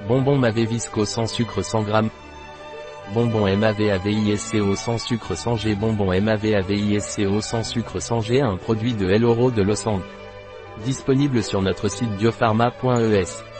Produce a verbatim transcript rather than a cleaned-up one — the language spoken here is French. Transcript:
Bonbon Mavé Visco sans sucre cent grammes. Bonbon Mavé Avisco sans sucre sans G. Bonbon Mavé Avisco sans sucre sans G, un produit de El Oro de Los Andes. Disponible sur notre site biopharma point e s.